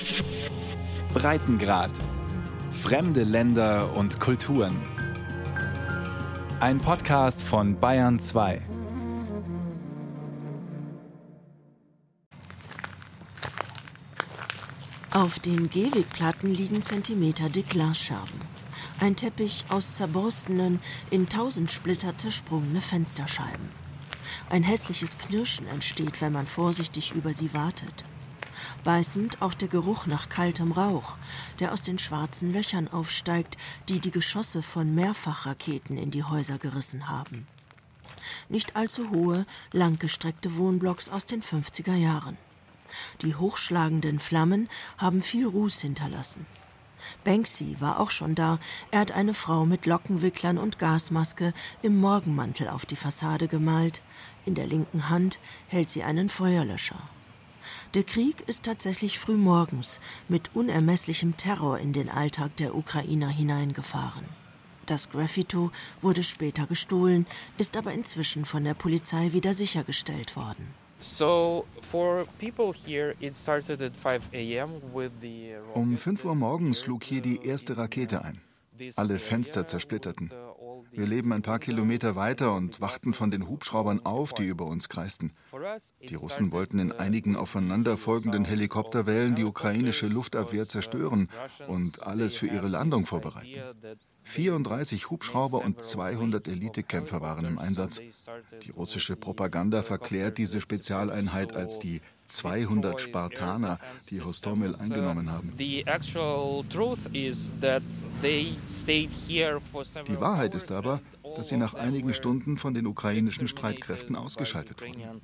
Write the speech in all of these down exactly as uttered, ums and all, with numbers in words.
Breitengrad. Fremde Länder und Kulturen. Ein Podcast von Bayern zwei. Auf den Gehwegplatten liegen zentimeterdick Glasscherben. Ein Teppich aus zerborstenen, in tausend Splitter zersprungene Fensterscheiben. Ein hässliches Knirschen entsteht, wenn man vorsichtig über sie wartet. Beißend auch der Geruch nach kaltem Rauch, der aus den schwarzen Löchern aufsteigt, die die Geschosse von Mehrfachraketen in die Häuser gerissen haben. Nicht allzu hohe, langgestreckte Wohnblocks aus den fünfziger Jahren. Die hochschlagenden Flammen haben viel Ruß hinterlassen. Banksy war auch schon da. Er hat eine Frau mit Lockenwicklern und Gasmaske im Morgenmantel auf die Fassade gemalt. In der linken Hand hält sie einen Feuerlöscher. Der Krieg ist tatsächlich frühmorgens mit unermesslichem Terror in den Alltag der Ukrainer hineingefahren. Das Graffito wurde später gestohlen, ist aber inzwischen von der Polizei wieder sichergestellt worden. Um fünf Uhr morgens schlug hier die erste Rakete ein. Alle Fenster zersplitterten. Wir leben ein paar Kilometer weiter und wachten von den Hubschraubern auf, die über uns kreisten. Die Russen wollten in einigen aufeinanderfolgenden Helikopterwellen die ukrainische Luftabwehr zerstören und alles für ihre Landung vorbereiten. vierunddreißig Hubschrauber und zweihundert Elitekämpfer waren im Einsatz. Die russische Propaganda verklärt diese Spezialeinheit als die zweihundert Spartaner, die Hostomel eingenommen haben. Die Wahrheit ist aber, dass sie nach einigen Stunden von den ukrainischen Streitkräften ausgeschaltet wurden.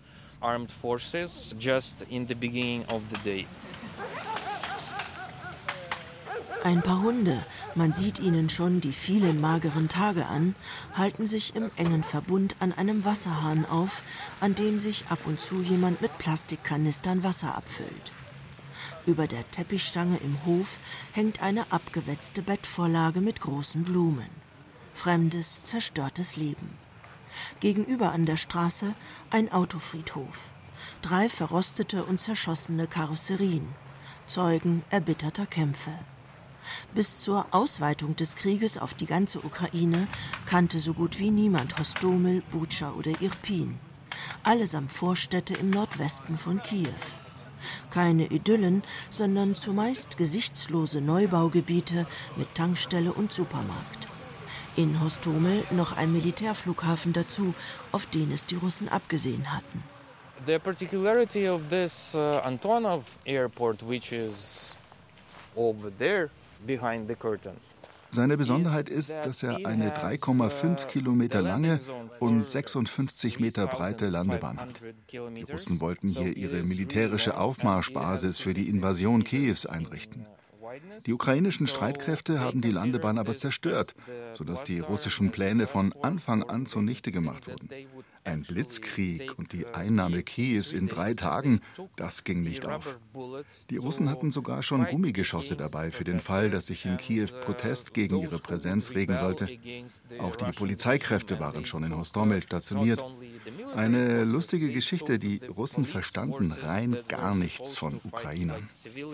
Ein paar Hunde, man sieht ihnen schon die vielen mageren Tage an, halten sich im engen Verbund an einem Wasserhahn auf, an dem sich ab und zu jemand mit Plastikkanistern Wasser abfüllt. Über der Teppichstange im Hof hängt eine abgewetzte Bettvorlage mit großen Blumen. Fremdes, zerstörtes Leben. Gegenüber an der Straße ein Autofriedhof. Drei verrostete und zerschossene Karosserien. Zeugen erbitterter Kämpfe. Bis zur Ausweitung des Krieges auf die ganze Ukraine kannte so gut wie niemand Hostomel, Butscha oder Irpin. Allesamt Vorstädte im Nordwesten von Kiew. Keine Idyllen, sondern zumeist gesichtslose Neubaugebiete mit Tankstelle und Supermarkt. In Hostomel noch ein Militärflughafen dazu, auf den es die Russen abgesehen hatten. The particularity of this uh, Antonov airport, which is over there behind the curtains. Seine Besonderheit ist, dass er eine drei Komma fünf Kilometer lange und sechsundfünfzig Meter breite Landebahn hat. Die Russen wollten hier ihre militärische Aufmarschbasis für die Invasion Kiews einrichten. Die ukrainischen Streitkräfte haben die Landebahn aber zerstört, sodass die russischen Pläne von Anfang an zunichte gemacht wurden. Ein Blitzkrieg und die Einnahme Kiews in drei Tagen, das ging nicht auf. Die Russen hatten sogar schon Gummigeschosse dabei für den Fall, dass sich in Kiew Protest gegen ihre Präsenz regen sollte. Auch die Polizeikräfte waren schon in Hostomel stationiert. Eine lustige Geschichte, die Russen verstanden rein gar nichts von Ukrainern.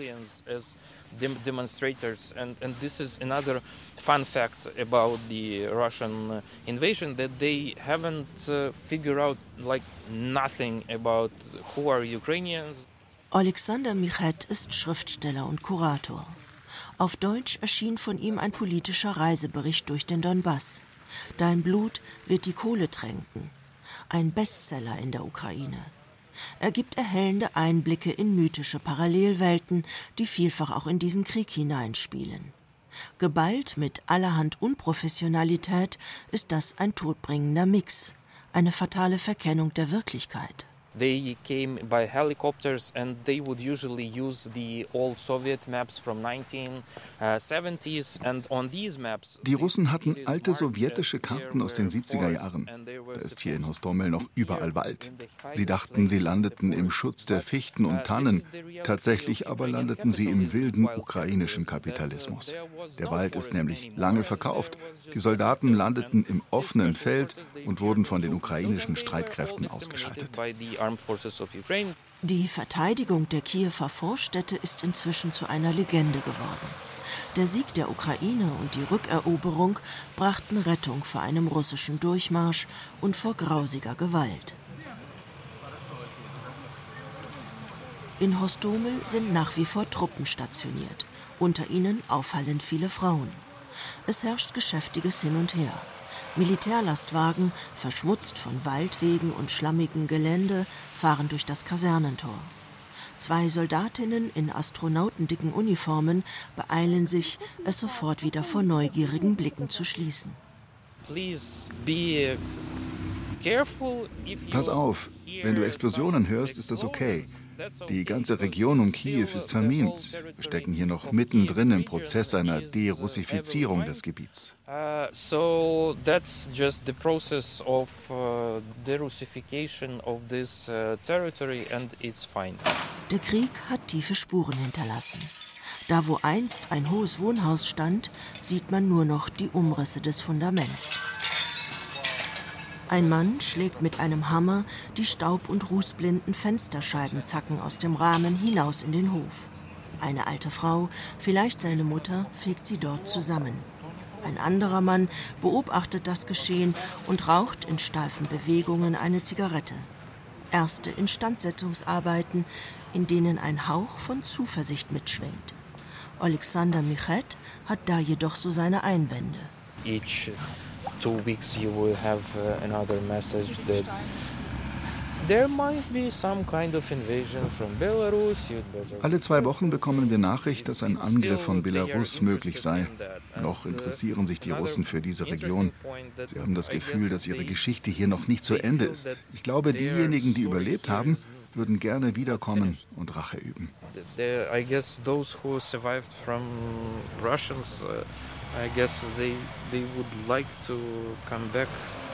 Demonstrators and and this is another fun fact about the Russian invasion, that they haven't uh, figured out like nothing about who are Ukrainians. Alexander Michet ist Schriftsteller und Kurator. Auf Deutsch erschien von ihm ein politischer Reisebericht durch den Donbass. Dein Blut wird die Kohle tränken. Ein Bestseller in der Ukraine. Er gibt erhellende Einblicke in mythische Parallelwelten, die vielfach auch in diesen Krieg hineinspielen. Geballt mit allerhand Unprofessionalität ist das ein todbringender Mix, eine fatale Verkennung der Wirklichkeit. They came by helicopters and they would usually use the old Soviet maps from nineteen seventies and on these maps. Die Russen hatten alte sowjetische Karten aus den siebziger Jahren. Da ist hier in Hostomel noch überall Wald. Sie dachten, sie landeten im Schutz der Fichten und Tannen. Tatsächlich aber landeten sie im wilden ukrainischen Kapitalismus. Der Wald ist nämlich lange verkauft. Die Soldaten landeten im offenen Feld und wurden von den ukrainischen Streitkräften ausgeschaltet. armed forces of Ukraine. Die Verteidigung der Kiewer Vorstädte ist inzwischen zu einer Legende geworden. Der Sieg der Ukraine und die Rückeroberung brachten Rettung vor einem russischen Durchmarsch und vor grausiger Gewalt. In Hostomel sind nach wie vor Truppen stationiert, unter ihnen auffallend viele Frauen. Es herrscht geschäftiges Hin und Her. Militärlastwagen, verschmutzt von Waldwegen und schlammigem Gelände, fahren durch das Kasernentor. Zwei Soldatinnen in astronautendicken Uniformen beeilen sich, es sofort wieder vor neugierigen Blicken zu schließen. Please be careful if you Pass auf, wenn du Explosionen hörst, ist das okay. Die ganze Region um Kiew ist vermint. Wir stecken hier noch mittendrin im Prozess einer Derussifizierung des Gebiets. Uh, so that's just the process of uh, derussification of this uh, territory and it's fine. Der Krieg hat tiefe Spuren hinterlassen. Da, wo einst ein hohes Wohnhaus stand, sieht man nur noch die Umrisse des Fundaments. Ein Mann schlägt mit einem Hammer die staub- und rußblinden Fensterscheibenzacken aus dem Rahmen hinaus in den Hof. Eine alte Frau, vielleicht seine Mutter, fegt sie dort zusammen. Ein anderer Mann beobachtet das Geschehen und raucht in steifen Bewegungen eine Zigarette. Erste Instandsetzungsarbeiten, in denen ein Hauch von Zuversicht mitschwingt. Alexander Michet hat da jedoch so seine Einwände. Each two weeks you will have uh, another message that there might be some kind of invasion from Belarus. Alle zwei Wochen bekommen wir Nachricht, dass ein Angriff von Belarus möglich sei. Noch interessieren sich die Russen für diese Region. Sie haben das Gefühl, dass ihre Geschichte hier noch nicht zu Ende ist. Ich glaube, diejenigen, die überlebt haben, würden gerne wiederkommen und Rache üben. I guess those who survived from Russians, uh, I guess they they would like to come back.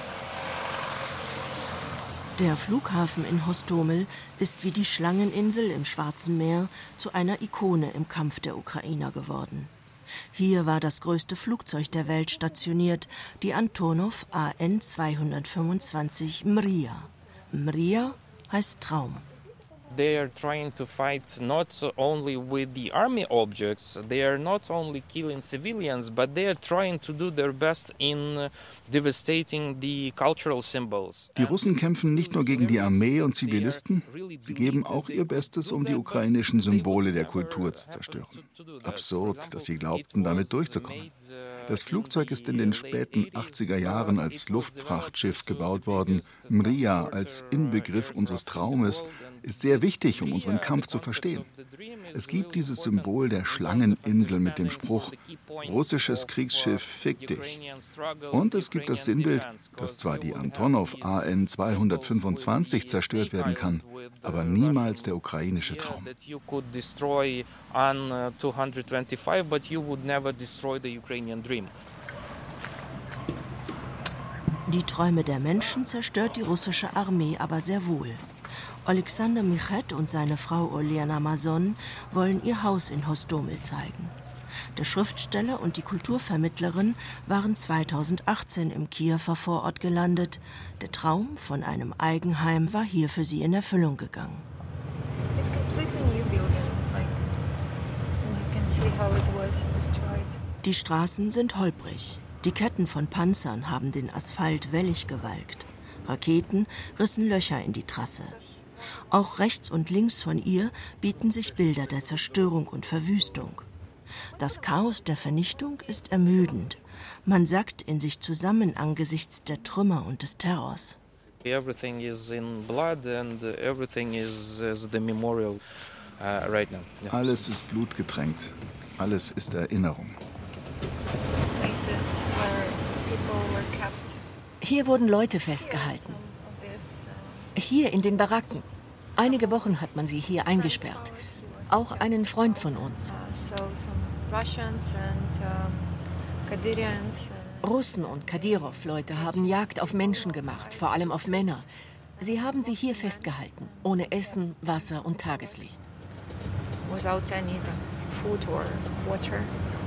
Der Flughafen in Hostomel ist wie die Schlangeninsel im Schwarzen Meer zu einer Ikone im Kampf der Ukrainer geworden. Hier war das größte Flugzeug der Welt stationiert, die Antonov A N zweihundertfünfundzwanzig Mriya. Mriya heißt Traum. They are trying to fight not only with the army objects, they are not only killing civilians, but they are trying to do their best in devastating the cultural symbols. Die Russen kämpfen nicht nur gegen die Armee und Zivilisten, sie geben auch ihr Bestes, um die ukrainischen Symbole der Kultur zu zerstören. Absurd, dass sie glaubten, damit durchzukommen. Das Flugzeug ist in den späten achtziger Jahren als Luftfrachtschiff gebaut worden. Mriya als Inbegriff unseres Traumes ist sehr wichtig, um unseren Kampf zu verstehen. Es gibt dieses Symbol der Schlangeninsel mit dem Spruch, russisches Kriegsschiff, fick dich. Und es gibt das Sinnbild, dass zwar die Antonov A N zweihundertfünfundzwanzig zerstört werden kann, aber niemals der ukrainische Traum. Die Träume der Menschen zerstört die russische Armee aber sehr wohl. Alexander Michet und seine Frau Olena Mazon wollen ihr Haus in Hostomel zeigen. Der Schriftsteller und die Kulturvermittlerin waren zweitausendachtzehn im Kiewer Vorort gelandet. Der Traum von einem Eigenheim war hier für sie in Erfüllung gegangen. Die Straßen sind holprig. Die Ketten von Panzern haben den Asphalt wellig gewalkt. Raketen rissen Löcher in die Trasse. Auch rechts und links von ihr bieten sich Bilder der Zerstörung und Verwüstung. Das Chaos der Vernichtung ist ermüdend. Man sackt in sich zusammen angesichts der Trümmer und des Terrors. Everything is in blood and everything is, is the memorial uh, right now. Yeah. Alles ist blutgetränkt. Alles ist Erinnerung. Hier wurden Leute festgehalten. Hier in den Baracken. Einige Wochen hat man sie hier eingesperrt. Auch einen Freund von uns. Russen und Kadyrov-Leute haben Jagd auf Menschen gemacht, vor allem auf Männer. Sie haben sie hier festgehalten, ohne Essen, Wasser und Tageslicht. Without any food or water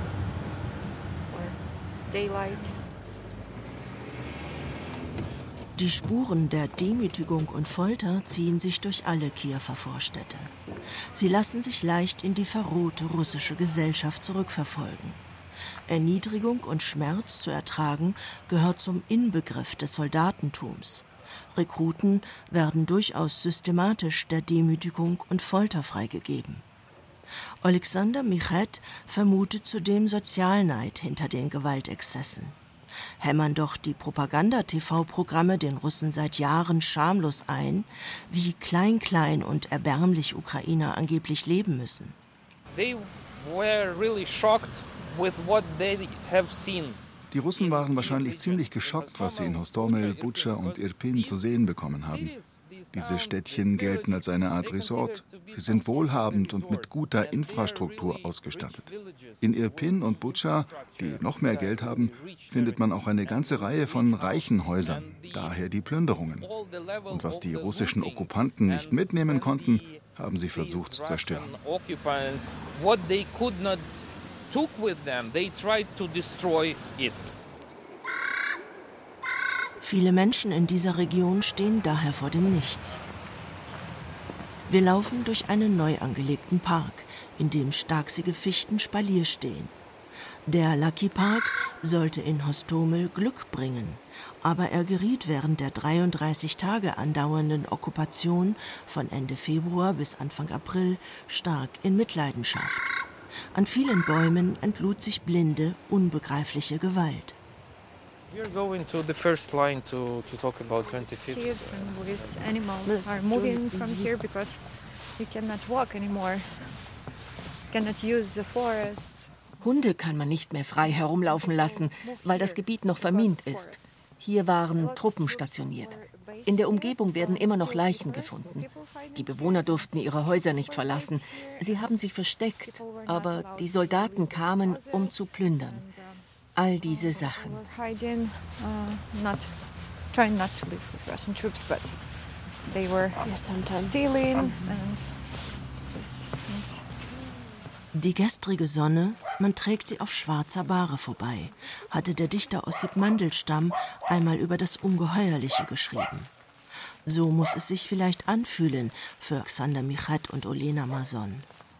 or daylight. Die Spuren der Demütigung und Folter ziehen sich durch alle Kiewer Vorstädte. Sie lassen sich leicht in die verrohte russische Gesellschaft zurückverfolgen. Erniedrigung und Schmerz zu ertragen gehört zum Inbegriff des Soldatentums. Rekruten werden durchaus systematisch der Demütigung und Folter freigegeben. Alexander Michet vermutet zudem Sozialneid hinter den Gewaltexzessen. Hämmern doch die Propaganda-T V-Programme den Russen seit Jahren schamlos ein, wie klein-klein und erbärmlich Ukrainer angeblich leben müssen. They were really shocked with what they have seen. Die Russen waren wahrscheinlich ziemlich geschockt, was sie in Hostomel, Butscha und Irpin zu sehen bekommen haben. Diese Städtchen gelten als eine Art Resort. Sie sind wohlhabend und mit guter Infrastruktur ausgestattet. In Irpin und Butscha, die noch mehr Geld haben, findet man auch eine ganze Reihe von reichen Häusern, daher die Plünderungen. Und was die russischen Okkupanten nicht mitnehmen konnten, haben sie versucht zu zerstören. Viele Menschen in dieser Region stehen daher vor dem Nichts. Wir laufen durch einen neu angelegten Park, in dem starksige Fichten Spalier stehen. Der Lucky Park sollte in Hostomel Glück bringen, aber er geriet während der dreiunddreißig Tage andauernden Okkupation von Ende Februar bis Anfang April stark in Mitleidenschaft. An vielen Bäumen entlud sich blinde, unbegreifliche Gewalt. We're going to the first line to, to talk about twenty-fifth. Kids and with animals are moving from here because we cannot walk anymore. Cannot use the forest. Hunde kann man nicht mehr frei herumlaufen lassen, weil das Gebiet noch vermint ist. Hier waren Truppen stationiert. In der Umgebung werden immer noch Leichen gefunden. Die Bewohner durften ihre Häuser nicht verlassen. Sie haben sich versteckt, aber die Soldaten kamen, um zu plündern. All diese Sachen. Die gestrige Sonne, man trägt sie auf schwarzer Bahre vorbei, hatte der Dichter Ossip Mandelstam einmal über das Ungeheuerliche geschrieben. So muss es sich vielleicht anfühlen für Alexander Michet und Olena Mazon.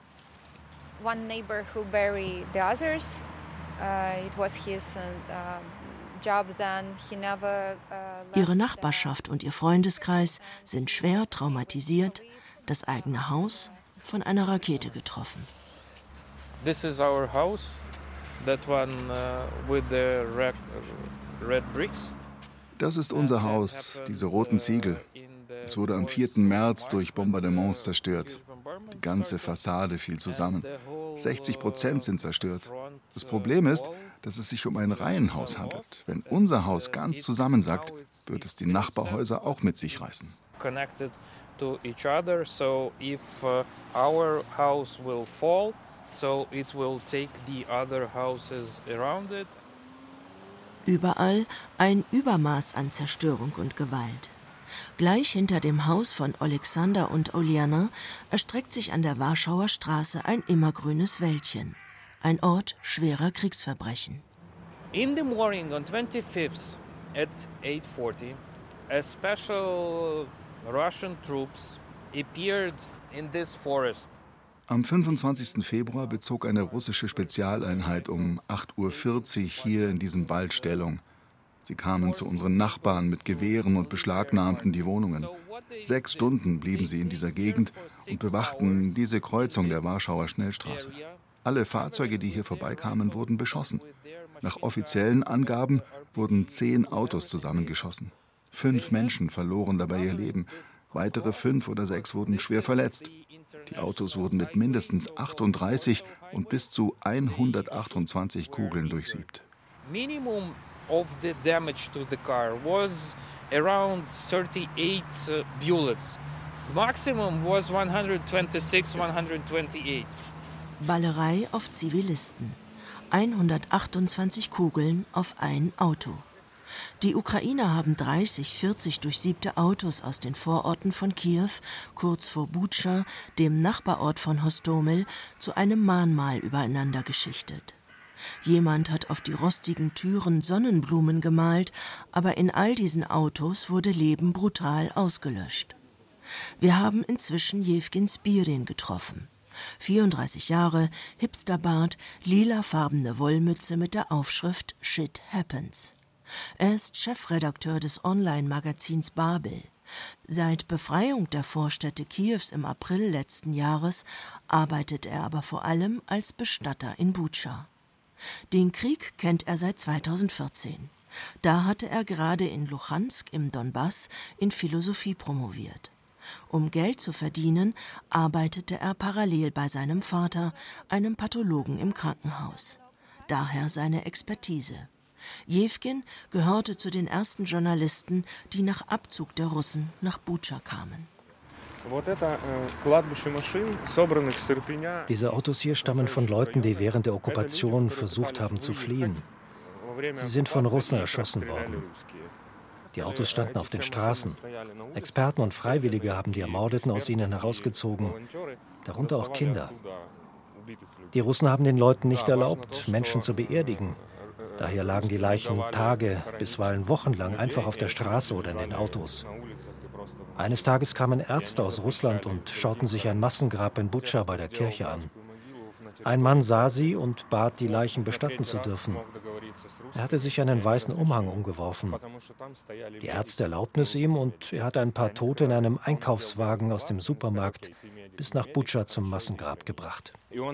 One neighbor who buried the others. Uh, it was his uh, job then. He never, uh, Ihre Nachbarschaft und ihr Freundeskreis sind schwer traumatisiert, das eigene Haus von einer Rakete getroffen. This is our house, that one uh, with the red, red bricks. Das ist unser Haus, diese roten Ziegel. Es wurde am vierten März durch Bombardements zerstört. Die ganze Fassade fiel zusammen. sechzig Prozent sind zerstört. Das Problem ist, dass es sich um ein Reihenhaus handelt. Wenn unser Haus ganz zusammensackt, wird es die Nachbarhäuser auch mit sich reißen. Connected to each other, so if uh, our house will fall, so it will take the other houses around it. Überall ein Übermaß an Zerstörung und Gewalt. Gleich hinter dem Haus von Alexander und Oliana erstreckt sich an der Warschauer Straße ein immergrünes Wäldchen. Ein Ort schwerer Kriegsverbrechen. In the morning on twenty-fifth at eight forty, a special Russian troops appeared in this forest. Am fünfundzwanzigsten Februar bezog eine russische Spezialeinheit um acht Uhr vierzig hier in diesem Wald Stellung. Sie kamen zu unseren Nachbarn mit Gewehren und beschlagnahmten die Wohnungen. Sechs Stunden blieben sie in dieser Gegend und bewachten diese Kreuzung der Warschauer Schnellstraße. Alle Fahrzeuge, die hier vorbeikamen, wurden beschossen. Nach offiziellen Angaben wurden zehn Autos zusammengeschossen. Fünf Menschen verloren dabei ihr Leben. Weitere fünf oder sechs wurden schwer verletzt. Die Autos wurden mit mindestens achtunddreißig und bis zu hundertachtundzwanzig Kugeln durchsiebt. Minimum of the damage to the car was around thirty-eight uh, bullets. Maximum was one twenty-six, one twenty-eight. Ballerei auf Zivilisten. hundertachtundzwanzig Kugeln auf ein Auto. Die Ukrainer haben dreißig, vierzig durchsiebte Autos aus den Vororten von Kiew, kurz vor Butscha, dem Nachbarort von Hostomel, zu einem Mahnmal übereinander geschichtet. Jemand hat auf die rostigen Türen Sonnenblumen gemalt, aber in all diesen Autos wurde Leben brutal ausgelöscht. Wir haben inzwischen Jewgen Spirin getroffen. vierunddreißig Jahre, Hipsterbart, lilafarbene Wollmütze mit der Aufschrift Shit Happens. Er ist Chefredakteur des Online-Magazins Babel. Seit Befreiung der Vorstädte Kiews im April letzten Jahres arbeitet er aber vor allem als Bestatter in Butscha. Den Krieg kennt er seit zweitausendvierzehn. Da hatte er gerade in Luhansk im Donbass in Philosophie promoviert. Um Geld zu verdienen, arbeitete er parallel bei seinem Vater, einem Pathologen im Krankenhaus. Daher seine Expertise. Jewgen gehörte zu den ersten Journalisten, die nach Abzug der Russen nach Butscha kamen. Diese Autos hier stammen von Leuten, die während der Okkupation versucht haben zu fliehen. Sie sind von Russen erschossen worden. Die Autos standen auf den Straßen. Experten und Freiwillige haben die Ermordeten aus ihnen herausgezogen, darunter auch Kinder. Die Russen haben den Leuten nicht erlaubt, Menschen zu beerdigen. Daher lagen die Leichen Tage, bisweilen wochenlang einfach auf der Straße oder in den Autos. Eines Tages kamen Ärzte aus Russland und schauten sich ein Massengrab in Butscha bei der Kirche an. Ein Mann sah sie und bat, die Leichen bestatten zu dürfen. Er hatte sich einen weißen Umhang umgeworfen. Die Ärzte erlaubten es ihm und er hat ein paar Tote in einem Einkaufswagen aus dem Supermarkt bis nach Butscha zum Massengrab gebracht.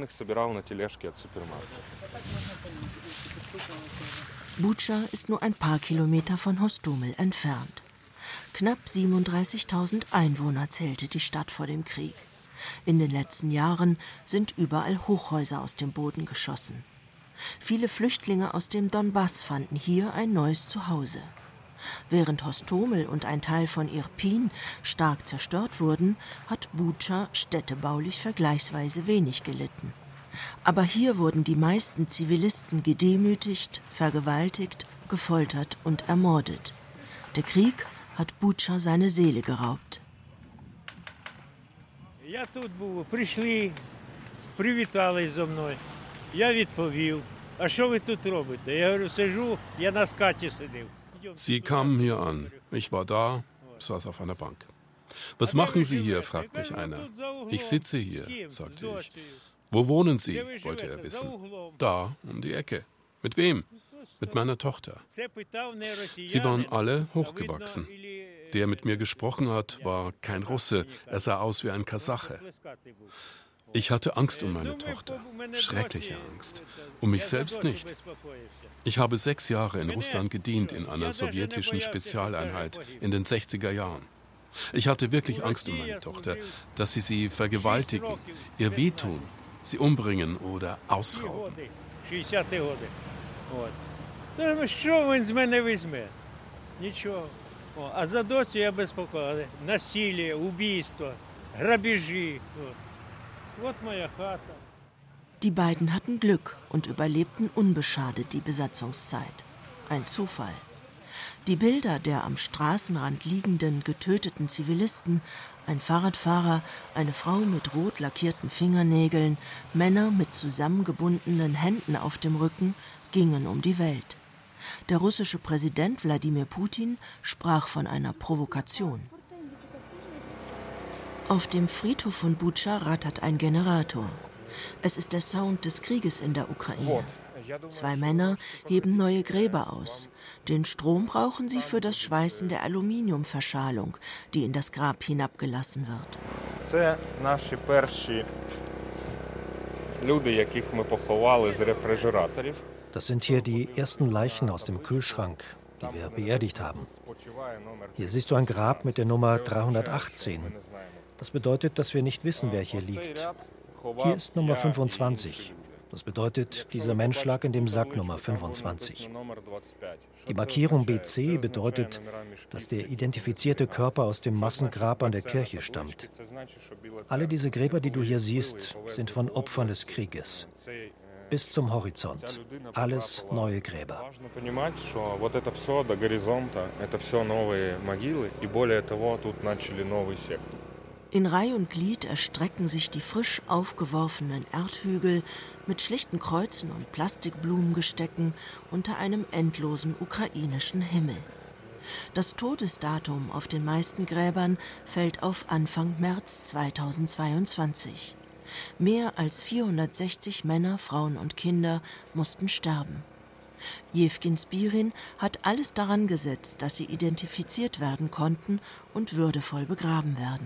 Butscha ist nur ein paar Kilometer von Hostomel entfernt. Knapp siebenunddreißigtausend Einwohner zählte die Stadt vor dem Krieg. In den letzten Jahren sind überall Hochhäuser aus dem Boden geschossen. Viele Flüchtlinge aus dem Donbass fanden hier ein neues Zuhause. Während Hostomel und ein Teil von Irpin stark zerstört wurden, hat Butscha städtebaulich vergleichsweise wenig gelitten. Aber hier wurden die meisten Zivilisten gedemütigt, vergewaltigt, gefoltert und ermordet. Der Krieg hat Butscha seine Seele geraubt. Я тут був, прийшли, привітались зо мною. Я відповів, а що ви тут робите? Я говорю, сижу, я на скаті сидів. Sie kamen hier an. Ich war da, saß auf einer Bank. Was machen Sie hier, fragt mich einer. Ich sitze hier, sagte ich. Wo wohnen Sie, wollte er wissen. Da, um die Ecke. Mit wem? Mit meiner Tochter. Sie waren alle hochgewachsen. Der mit mir gesprochen hat, war kein Russe. Er sah aus wie ein Kasache. Ich hatte Angst um meine Tochter. Schreckliche Angst. Um mich selbst nicht. Ich habe sechs Jahre in Russland gedient, in einer sowjetischen Spezialeinheit in den sechziger Jahren. Ich hatte wirklich Angst um meine Tochter, dass sie sie vergewaltigen, ihr wehtun, sie umbringen oder ausrauben. А за доцю я безпокоюся. Насилие, убийство, грабежі. Вот моя хата. Die beiden hatten Glück und überlebten unbeschadet die Besatzungszeit. Ein Zufall. Die Bilder der am Straßenrand liegenden, getöteten Zivilisten, ein Fahrradfahrer, eine Frau mit rot lackierten Fingernägeln, Männer mit zusammengebundenen Händen auf dem Rücken, gingen um die Welt. Der russische Präsident Wladimir Putin sprach von einer Provokation. Auf dem Friedhof von Butscha rattert ein Generator. Es ist der Sound des Krieges in der Ukraine. Zwei Männer heben neue Gräber aus. Den Strom brauchen sie für das Schweißen der Aluminiumverschalung, die in das Grab hinabgelassen wird. Це наші перші люди, яких ми поховали з рефрижераторів. Das sind hier die ersten Leichen aus dem Kühlschrank, die wir beerdigt haben. Hier siehst du ein Grab mit der Nummer dreihundertachtzehn. Das bedeutet, dass wir nicht wissen, wer hier liegt. Hier ist Nummer fünfundzwanzig. Das bedeutet, dieser Mensch lag in dem Sack Nummer fünfundzwanzig. Die Markierung B C bedeutet, dass der identifizierte Körper aus dem Massengrab an der Kirche stammt. Alle diese Gräber, die du hier siehst, sind von Opfern des Krieges. Bis zum Horizont. Alles neue Gräber. In Reih und Glied erstrecken sich die frisch aufgeworfenen Erdhügel mit schlichten Kreuzen und Plastikblumengestecken unter einem endlosen ukrainischen Himmel. Das Todesdatum auf den meisten Gräbern fällt auf Anfang März zweitausendzweiundzwanzig. Mehr als vierhundertsechzig Männer, Frauen und Kinder mussten sterben. Jewgen Spirin hat alles daran gesetzt, dass sie identifiziert werden konnten und würdevoll begraben werden.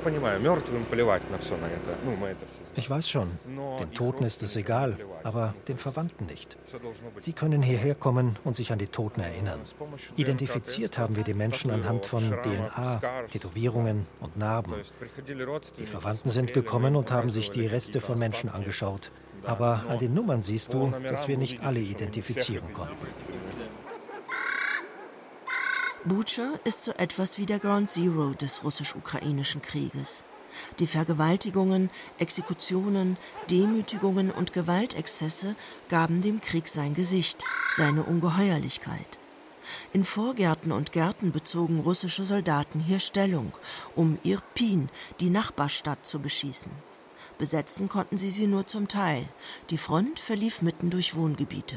Ich weiß schon, den Toten ist es egal, aber den Verwandten nicht. Sie können hierher kommen und sich an die Toten erinnern. Identifiziert haben wir die Menschen anhand von D N A, Tätowierungen und Narben. Die Verwandten sind gekommen und haben sich die Reste von Menschen angeschaut. Aber an den Nummern siehst du, dass wir nicht alle identifizieren konnten. Butscha ist so etwas wie der Ground Zero des russisch-ukrainischen Krieges. Die Vergewaltigungen, Exekutionen, Demütigungen und Gewaltexzesse gaben dem Krieg sein Gesicht, seine Ungeheuerlichkeit. In Vorgärten und Gärten bezogen russische Soldaten hier Stellung, um Irpin, die Nachbarstadt, zu beschießen. Besetzen konnten sie sie nur zum Teil. Die Front verlief mitten durch Wohngebiete.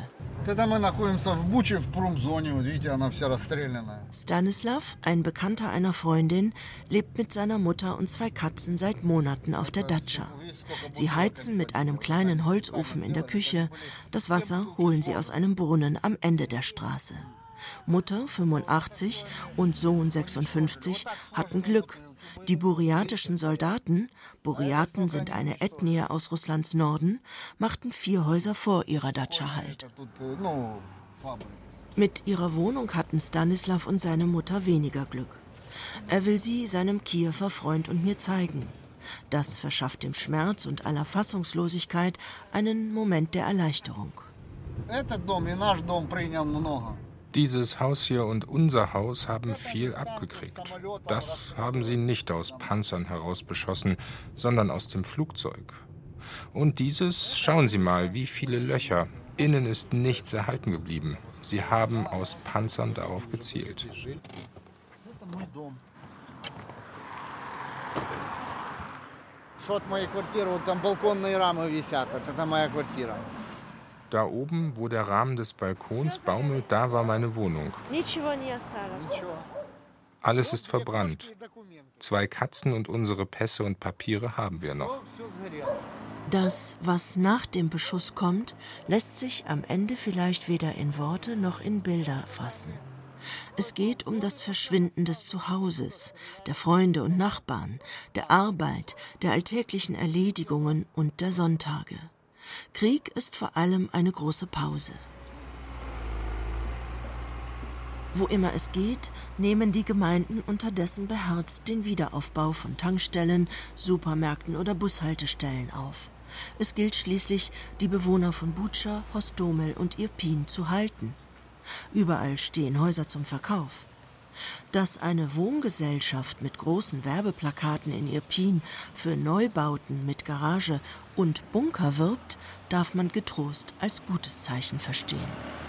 Stanislav, ein Bekannter einer Freundin, lebt mit seiner Mutter und zwei Katzen seit Monaten auf der Datscha. Sie heizen mit einem kleinen Holzofen in der Küche. Das Wasser holen sie aus einem Brunnen am Ende der Straße. Mutter, fünfundachtzig, und Sohn, sechsundfünfzig, hatten Glück. Die burjatischen Soldaten, Burjaten sind eine Ethnie aus Russlands Norden, machten vier Häuser vor ihrer Datscha Halt. Mit ihrer Wohnung hatten Stanislav und seine Mutter weniger Glück. Er will sie seinem Kiewer Freund und mir zeigen. Das verschafft dem Schmerz und aller Fassungslosigkeit einen Moment der Erleichterung. Dieses Haus hier und unser Haus haben viel abgekriegt. Das haben sie nicht aus Panzern heraus beschossen, sondern aus dem Flugzeug. Und dieses, schauen Sie mal, wie viele Löcher. Innen ist nichts erhalten geblieben. Sie haben aus Panzern darauf gezielt. Da oben, wo der Rahmen des Balkons baumelt, da war meine Wohnung. Alles ist verbrannt. Zwei Katzen und unsere Pässe und Papiere haben wir noch. Das, was nach dem Beschuss kommt, lässt sich am Ende vielleicht weder in Worte noch in Bilder fassen. Es geht um das Verschwinden des Zuhauses, der Freunde und Nachbarn, der Arbeit, der alltäglichen Erledigungen und der Sonntage. Krieg ist vor allem eine große Pause. Wo immer es geht, nehmen die Gemeinden unterdessen beherzt den Wiederaufbau von Tankstellen, Supermärkten oder Bushaltestellen auf. Es gilt schließlich, die Bewohner von Butscha, Hostomel und Irpin zu halten. Überall stehen Häuser zum Verkauf. Dass eine Wohngesellschaft mit großen Werbeplakaten in Irpin für Neubauten mit Garage und Bunker wirbt, darf man getrost als gutes Zeichen verstehen.